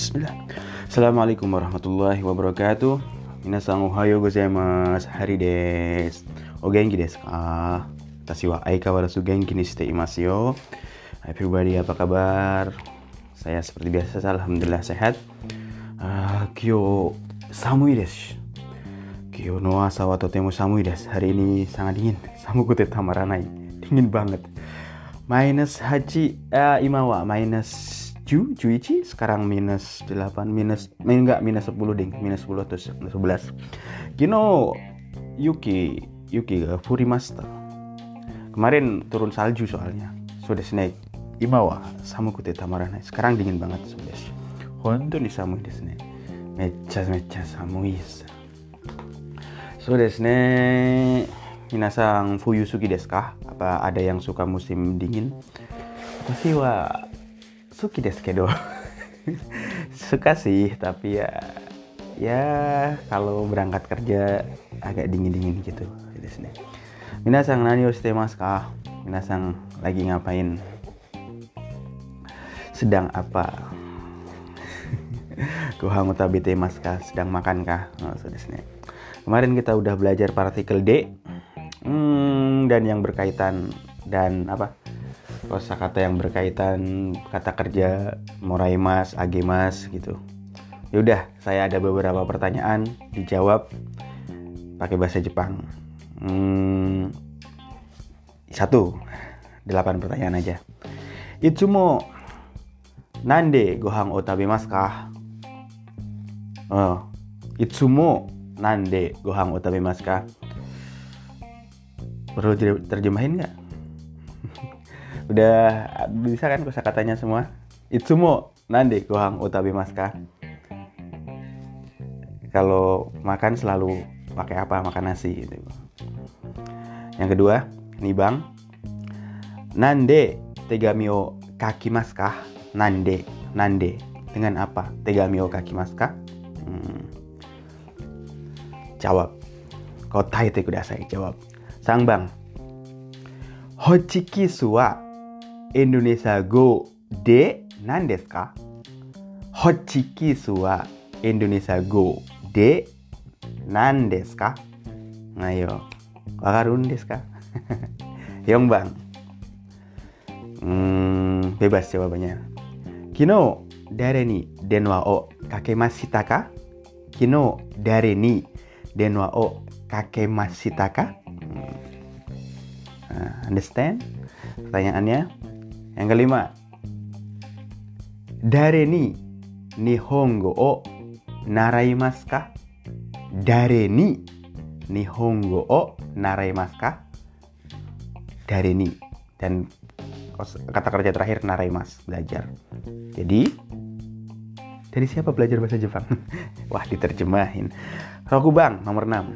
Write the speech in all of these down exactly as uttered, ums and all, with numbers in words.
Bismillah. Assalamualaikum warahmatullahi wabarakatuh. Minasan ohayo gozaimasu. Hari desu. O genki desu ka? Watashi wa aikawarazu genki ni shite imasu yo. Hai everybody, apa kabar? Saya seperti biasa, alhamdulillah sehat. Uh, Kyo samui desu. Kyo no asa wa totemo samui desu. Hari ini sangat dingin. Samuku te tamaranai. Dingin banget. Minus hachi uh, imawa minus Ju, Juichi sekarang minus delapan, minus enggak minus sepuluh ding, minus sepuluh atau sebelas. Kino Yuki Yuki ga furimashita. Kemarin turun salju soalnya. So desu ne. Imawa samuku te tamaranai. Sekarang dingin banget so desu. Hontou ni samui desu ne. Mecca mecca samui desu. So desu ne. Minasan fuyu suki desu ka? Apa ada yang suka musim dingin? Watashi wa suki desu kedo. Suka sih, tapi ya ya kalau berangkat kerja agak dingin-dingin gitu. Minasan nani o shite masu ka? Minasan lagi ngapain? Sedang apa? Gohan o tabete masu ka? Sedang makan kah? Oh, so desu ne. Kemarin kita udah belajar partikel D. Hmm, dan yang berkaitan dan apa? Kosakata yang berkaitan kata kerja moraimasu, agemasu gitu. Yaudah, saya ada beberapa pertanyaan, dijawab pakai bahasa Jepang. Hmm, satu, delapan pertanyaan aja. Itsumo nande gohan o tabemasu ka? Oh, itsumo nande gohan o tabemasu ka? Perlu terjemahin nggak? Udah bisa kan kosakatanya semua? Itsumo nande gohan o tabemasu ka? Kalau makan selalu pakai apa? Makan nasi gitu. Yang kedua, nih Bang. Nande tegami o kakimasu ka? Nande, nande. Dengan apa? Tegami o kakimasu ka? Hmm. Jawab. Kotaete kudasai. Jawab. Sang Bang. Hochikissu wa Indonesia Go de nan desu ka? Hochikissu wa Indonesia Go de nan desu ka? Ayo, wakarun desu ka? Yong Bang. Hmm, bebas jawabannya. Kino dare ni denwa o kakemashita ka? Kino dare ni denwa o kakemashita ka? Hmm. Nah, understand? Pertanyaannya. Yang kelima, dare ni nihongo o naraimasu ka? Dare ni nihongo o naraimasu ka? Dare ni. Dan kata kerja terakhir naraimasu, belajar. Jadi, dari siapa belajar bahasa Jepang? Wah, diterjemahin. Rokubang nomor enam.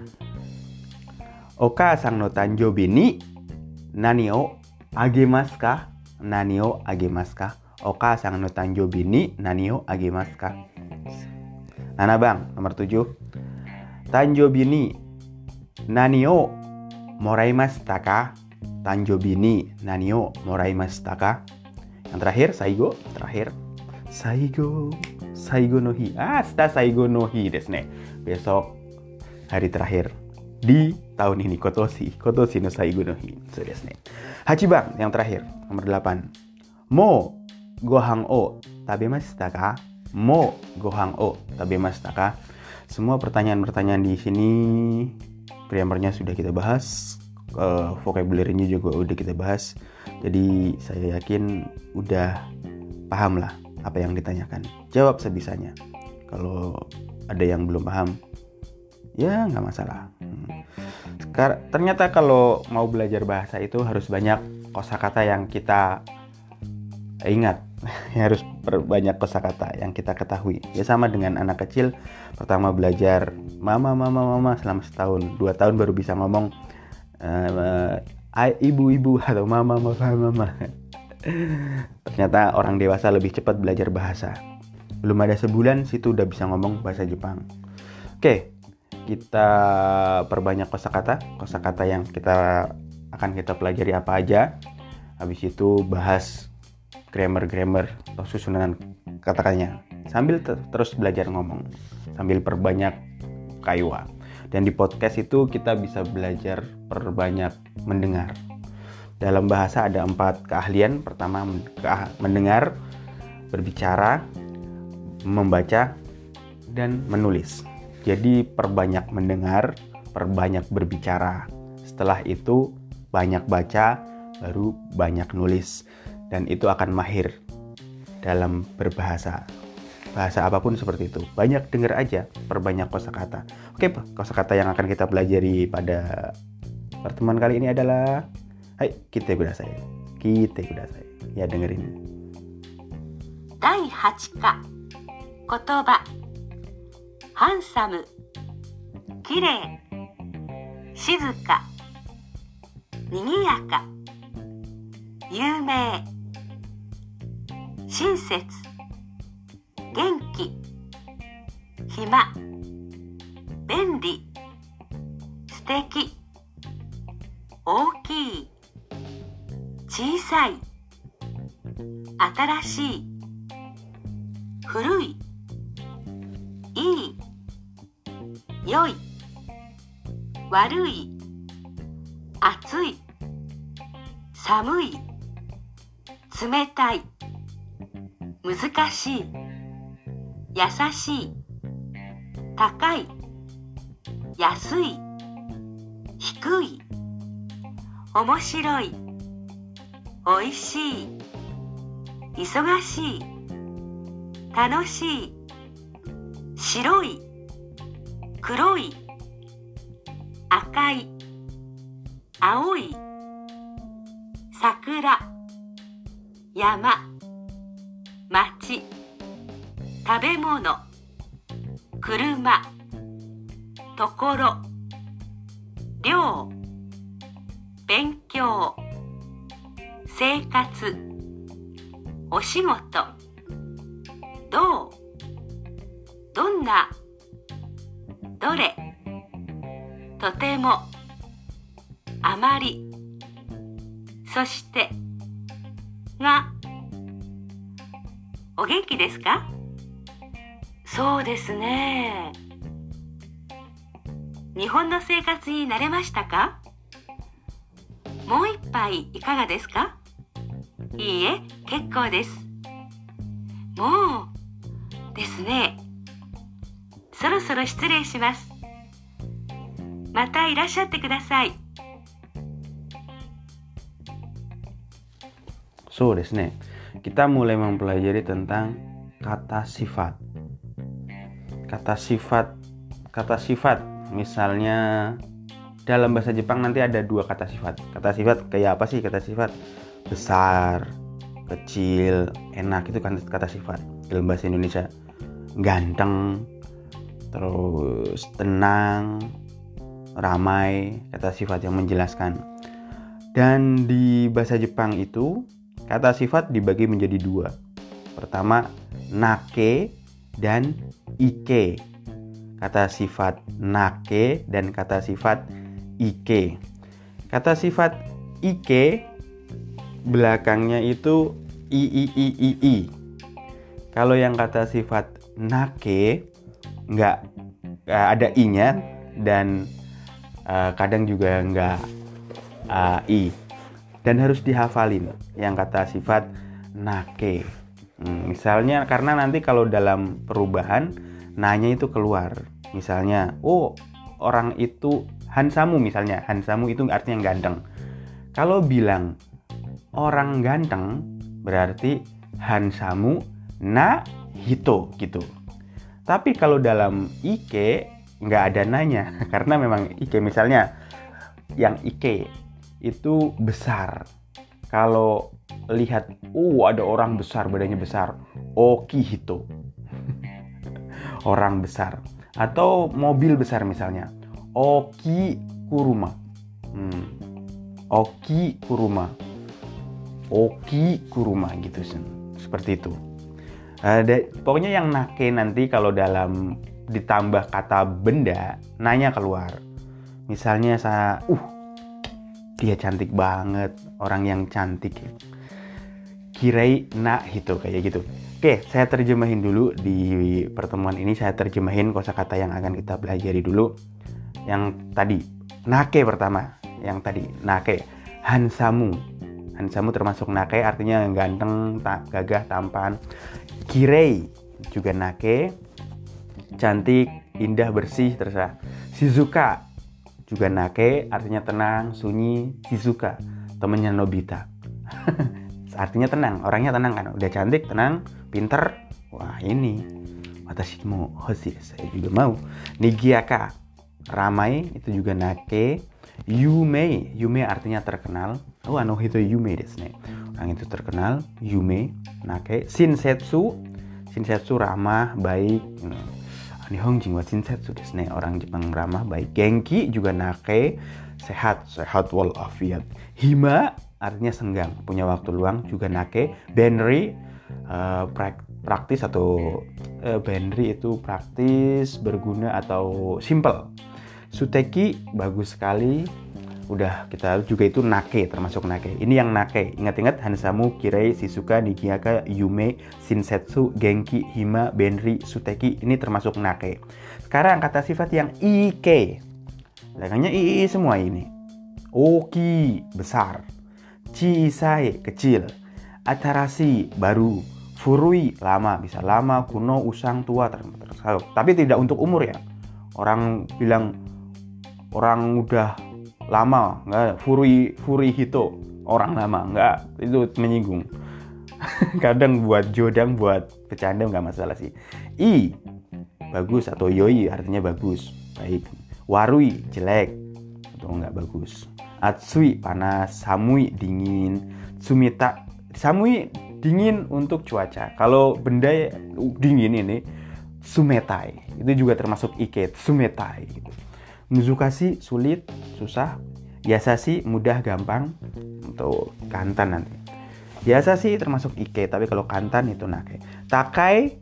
Oka-san no tanjoubi ni nani o agemasu ka? Nani o agemasu ka? Oka-san no tanjoubi ni nani o agemasu ka? Nana Bang, nomor tujuh. Tanjoubi ni nani o moraimashita ka? Tanjoubi ni nani o moraimashita ka? Yang terakhir, Saigo. Terakhir. Saigo. Saigo no hi. Ah, shita Saigo no hi desu ne. Besok hari terakhir di tahun ini. Kotoshi. Kotoshi no Saigo no hi. So desu ne. Hachi Bang, yang terakhir, nomor delapan. Mo gohan o tabemashita ka? Mo gohan o tabemashita ka? Semua pertanyaan-pertanyaan di sini grammarnya sudah kita bahas, uh, vocabulary-nya juga udah kita bahas. Jadi saya yakin udah paham lah apa yang ditanyakan. Jawab sebisanya. Kalau ada yang belum paham, ya nggak masalah. Sekarang, ternyata kalau mau belajar bahasa itu harus banyak kosakata yang kita ingat. Harus banyak kosakata yang kita ketahui. Ya sama dengan anak kecil, pertama belajar mama mama mama selama setahun, dua tahun baru bisa ngomong uh, ibu-ibu atau mama mama mama. Ternyata orang dewasa lebih cepat belajar bahasa. Belum ada sebulan situ udah bisa ngomong bahasa Jepang. Oke. Kita perbanyak kosakata, kosakata yang kita akan kita pelajari apa aja. Habis itu bahas grammar-grammar atau susunan kata-katanya. sambil ter- terus belajar ngomong, sambil perbanyak kaiwa. Dan di podcast itu kita bisa belajar perbanyak mendengar. Dalam bahasa ada empat keahlian. Pertama, mendengar, berbicara, membaca, dan menulis. Jadi perbanyak mendengar, perbanyak berbicara. Setelah itu banyak baca, baru banyak nulis. Dan itu akan mahir dalam berbahasa. Bahasa apapun seperti itu. Banyak dengar aja, perbanyak kosakata. Oke, kosakata yang akan kita pelajari pada pertemuan kali ini adalah hai, kite kudasai. Kite kudasai. Ya, dengerin. だいはち課言葉ハンサムきれい静かにぎやか有名親切元気暇便利素敵大きい小さい新しい古いいい良い悪い暑い寒い冷たい難しい優しい高い安い低い面白いおいしい忙しい楽しい白い黒い赤い青い桜山町食べ物車ところ寮勉強生活お仕事どうどんなどれとてもあまりそしてがお元気ですか？そうですね。日本の生活に慣れましたか？もう一杯いかがですか？いいえ、結構です。もうですね。そろそろ失礼します。またいらっしゃってください。 そうですね。Kita mulai mempelajari tentang kata sifat. Kata sifat, kata sifat. Misalnya dalam bahasa Jepang nanti ada dua kata sifat. Kata sifat kayak apa sih kata sifat? Besar, kecil, enak, itu kan kata sifat. Dalam bahasa Indonesia ganteng, terus tenang, ramai, kata sifat yang menjelaskan. Dan di bahasa Jepang itu kata sifat dibagi menjadi dua. Pertama, nake dan ike. Kata sifat nake dan kata sifat ike. Kata sifat ike belakangnya itu i i i i i. Kalau yang kata sifat nake nggak uh, ada i-nya dan uh, kadang juga nggak uh, i. Dan harus dihafalin yang kata sifat nake. Hmm, misalnya karena nanti kalau dalam perubahan nanya itu keluar. Misalnya, oh orang itu hansamu misalnya. Hansamu itu artinya ganteng. Kalau bilang orang ganteng berarti hansamu na hito gitu. Tapi kalau dalam ike nggak ada nanya karena memang ike misalnya yang ike itu besar. Kalau lihat, oh ada orang besar, badannya besar, oki hito. Orang besar. Atau mobil besar misalnya, oki kuruma. Hmm. Oki kuruma. Oki kuruma gitu. Seperti itu. Ada, pokoknya yang nake nanti kalau dalam ditambah kata benda, nanya keluar. Misalnya saya, uh dia cantik banget, orang yang cantik. Kirei na hito, kayak gitu. Oke, saya terjemahin dulu di pertemuan ini. Saya terjemahin kosakata yang akan kita pelajari dulu. Yang tadi, nake pertama. Yang tadi, nake. Hansamu. Hansamu termasuk nake, artinya ganteng, ta- gagah, tampan. Kirei juga nake. Cantik, indah, bersih, terserah. Shizuka juga nake, artinya tenang, sunyi. Shizuka, temennya Nobita. Artinya tenang, orangnya tenang kan, udah cantik, tenang, pinter. Wah ini, watashi mo hoshi, saya juga mau. Nigiaka, ramai, itu juga nake. Yume, yume artinya terkenal. Oh, ano hito yume desu ne. Orang itu terkenal, yume, nake. Shinsetsu, shinsetsu ramah, baik. Nihonjin wa shinsetsu desu ne. Orang Jepang ramah, baik. Genki juga nake, sehat, sehat walafiat. Hima artinya senggang, punya waktu luang, juga nake. Benri, uh, prak, praktis atau uh, benri itu praktis, berguna atau simple. Suteki, bagus sekali. Udah kita juga itu nake, termasuk nake. Ini yang nake. Ingat-ingat, Hansamu, Kirei, Shizuka, Nigiaka, Yume, Shinsetsu, Genki, Hima, Benri, Suteki. Ini termasuk nake. Sekarang kata sifat yang ike. Belakangnya ii semua ini. Oki, besar. Chisai, kecil. Atarasi, baru. Furui, lama. Bisa lama, kuno, usang, tua. Tersaluk. Tapi tidak untuk umur ya. Orang bilang orang udah lama, enggak. Furui, furui hito, orang lama, enggak. Itu menyinggung. Kadang buat jodang, buat bercanda enggak masalah sih. I, bagus atau yoi artinya bagus, baik. Warui, jelek atau enggak bagus. Atsui, panas. Samui, dingin. Sumita, samui, dingin untuk cuaca. Kalau benda dingin ini, sumetai. Itu juga termasuk ike, sumetai. Gitu. Muzukasi, sulit, susah. Yasashi, mudah, gampang. Untuk kantan nanti. Yasashi termasuk ike, tapi kalau kantan itu nake. Takai,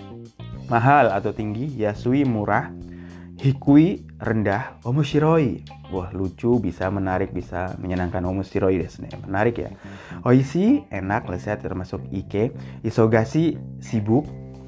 mahal atau tinggi. Yasui, murah. Hikui, rendah. Omoshiroi, wah lucu, bisa menarik, bisa menyenangkan. Omoshiroi desu ne, menarik ya. Oishi, enak, lezat, termasuk ike. Isogashi, sibuk.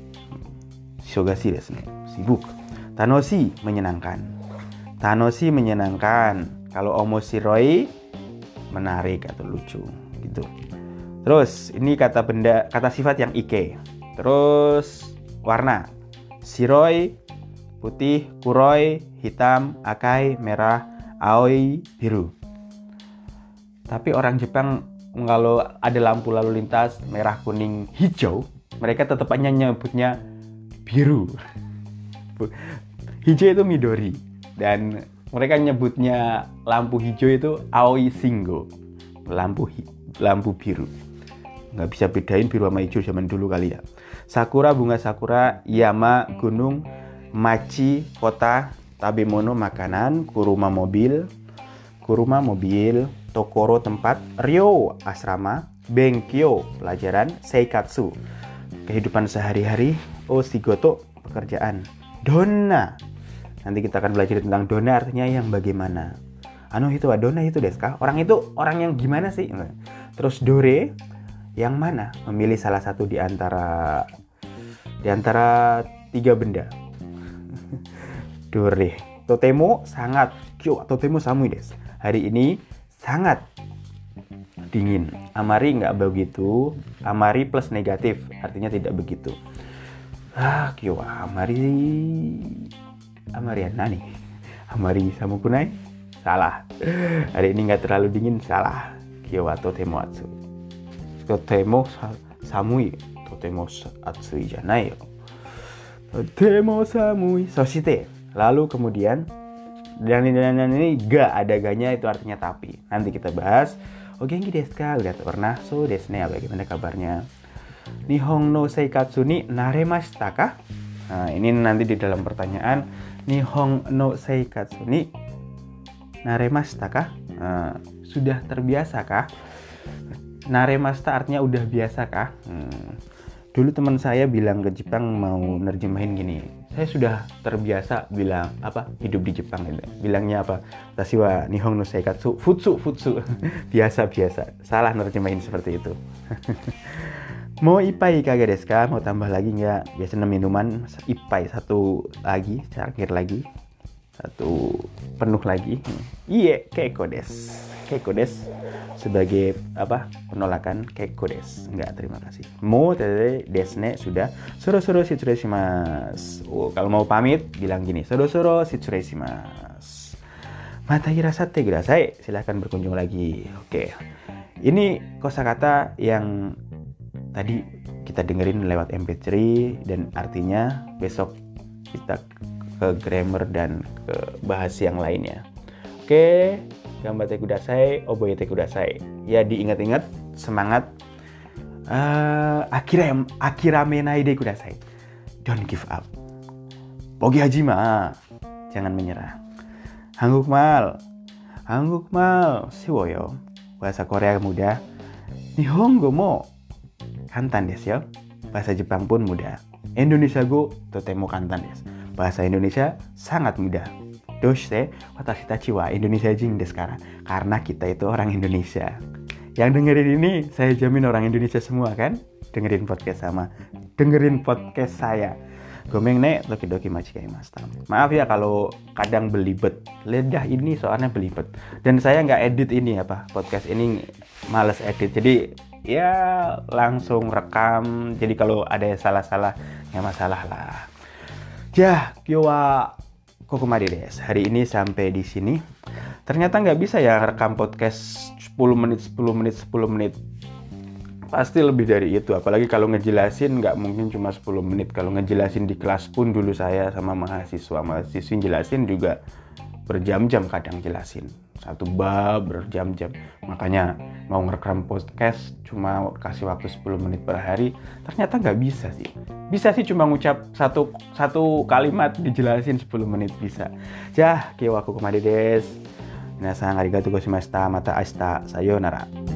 Isogashi desu ne, sibuk. Tanoshi, menyenangkan. Tanoshi, menyenangkan. Kalau omoshiroi, menarik atau lucu gitu. Terus ini kata benda, kata sifat yang ike. Terus warna. Shiroi, putih. Kuroi, hitam. Akai, merah. Aoi, biru. Tapi orang Jepang kalau ada lampu lalu lintas merah, kuning, hijau, mereka tetap hanya nyebutnya biru. Hijau itu midori, dan mereka nyebutnya lampu hijau itu aoi shingo, lampu hi- lampu biru. Nggak bisa bedain biru sama hijau zaman dulu kali ya. Sakura, bunga sakura. Yama, gunung. Machi, kota. Tabemono, makanan. Kuruma, mobil. Kuruma, mobil. Tokoro, tempat. Ryo, asrama. Benkyo, pelajaran. Seikatsu, kehidupan sehari-hari. Oshigoto, pekerjaan. Donna, nanti kita akan belajar tentang donna, artinya yang bagaimana. Ano itu donna itu desu ka? Orang itu orang yang gimana sih? Terus dore, yang mana? Memilih salah satu di antara di antara tiga benda. Dore. Totemo, sangat. Kyo, totemo samui desu. Hari ini sangat dingin. Amari nggak begitu. Amari plus negatif, artinya tidak begitu. Ah, kyo amari amari nani? Amari samukunai? Salah. Hari ini nggak terlalu dingin, salah. Kyo wa totemo atsui. Totemo samui. Totemo atsui janai yo. Totemo samui. Soshite, lalu kemudian, dan ini, dan ini ga ada ganya, itu artinya tapi. Nanti kita bahas. O genki desu ka? Udah pernah? So desu ne, bagaimana kabarnya? Nihon no seikatsu ni naremashita ka? Nah, ini nanti di dalam pertanyaan. Nihon no seikatsu ni naremashita ka? Nah, sudah terbiasa kah? Naremashita artinya udah biasa kah? Hmm. Dulu teman saya bilang ke Jepang mau nerjemahin gini. Saya sudah terbiasa bilang apa? Hidup di Jepang gitu. Bilangnya apa? Tashi wa nihon no seikatsu futsu futsu. Biasa-biasa. Salah nerjemahin seperti itu. Mau ipai kagak desu ka? Mau tambah lagi nggak? Biasanya minuman ipai satu lagi, terakhir lagi, satu penuh lagi. Iya, keiko desu. Keiko desu sebagai apa? Penolakan keiko desu. Enggak, terima kasih. Mo tete desne sudah. Soro-soro shitsurei Oh, kalau mau pamit bilang gini, soro-soro shitsurei Mata hirasate kudasai. Silahkan berkunjung lagi. Oke. Ini kosakata yang tadi kita dengerin lewat M P tiga dan artinya besok kita ke grammar dan ke bahasa yang lainnya. Oke, gambate kudasai, oboete kudasai. Ya diingat-ingat, semangat. Uh, akira akiramenai de kudasai. Don't give up. Bogi hajima. Jangan menyerah. Hangukmal. Hangukmal. Shiwoyo. Bahasa Korea mudah. Nihongo mo kantan desu yo. Bahasa Jepang pun mudah. Indonesia go totemo kantan desu. Bahasa Indonesia sangat mudah. Doshite watashi tachi wa Indonesia jing desu kara. Karena kita itu orang Indonesia. Yang dengerin ini saya jamin orang Indonesia semua kan? Dengerin podcast sama. Dengerin podcast saya. Gomeng ne doki-doki machikaimashita. Maaf ya kalau kadang belibet. Lidah ini soalnya belibet. Dan saya nggak edit ini apa podcast ini, males edit. Jadi ya langsung rekam. Jadi kalau ada yang salah-salah ya masalah lah. Ya, kyowa kokomade desu. Hari ini sampai di sini. Ternyata nggak bisa ya rekam podcast sepuluh menit, sepuluh menit, sepuluh menit. Pasti lebih dari itu, apalagi kalau ngejelasin nggak mungkin cuma sepuluh menit. Kalau ngejelasin di kelas pun dulu saya sama mahasiswa mahasiswi jelasin juga berjam-jam kadang jelasin satu bab berjam-jam. Makanya mau ngerekam podcast cuma kasih waktu sepuluh menit per hari, ternyata nggak bisa sih. Bisa sih cuma ngucap satu satu kalimat dijelasin sepuluh menit bisa. Ya, kyowa kokomade desu. Minasan arigatou gozaimashita. Mata ashita. Sayonara.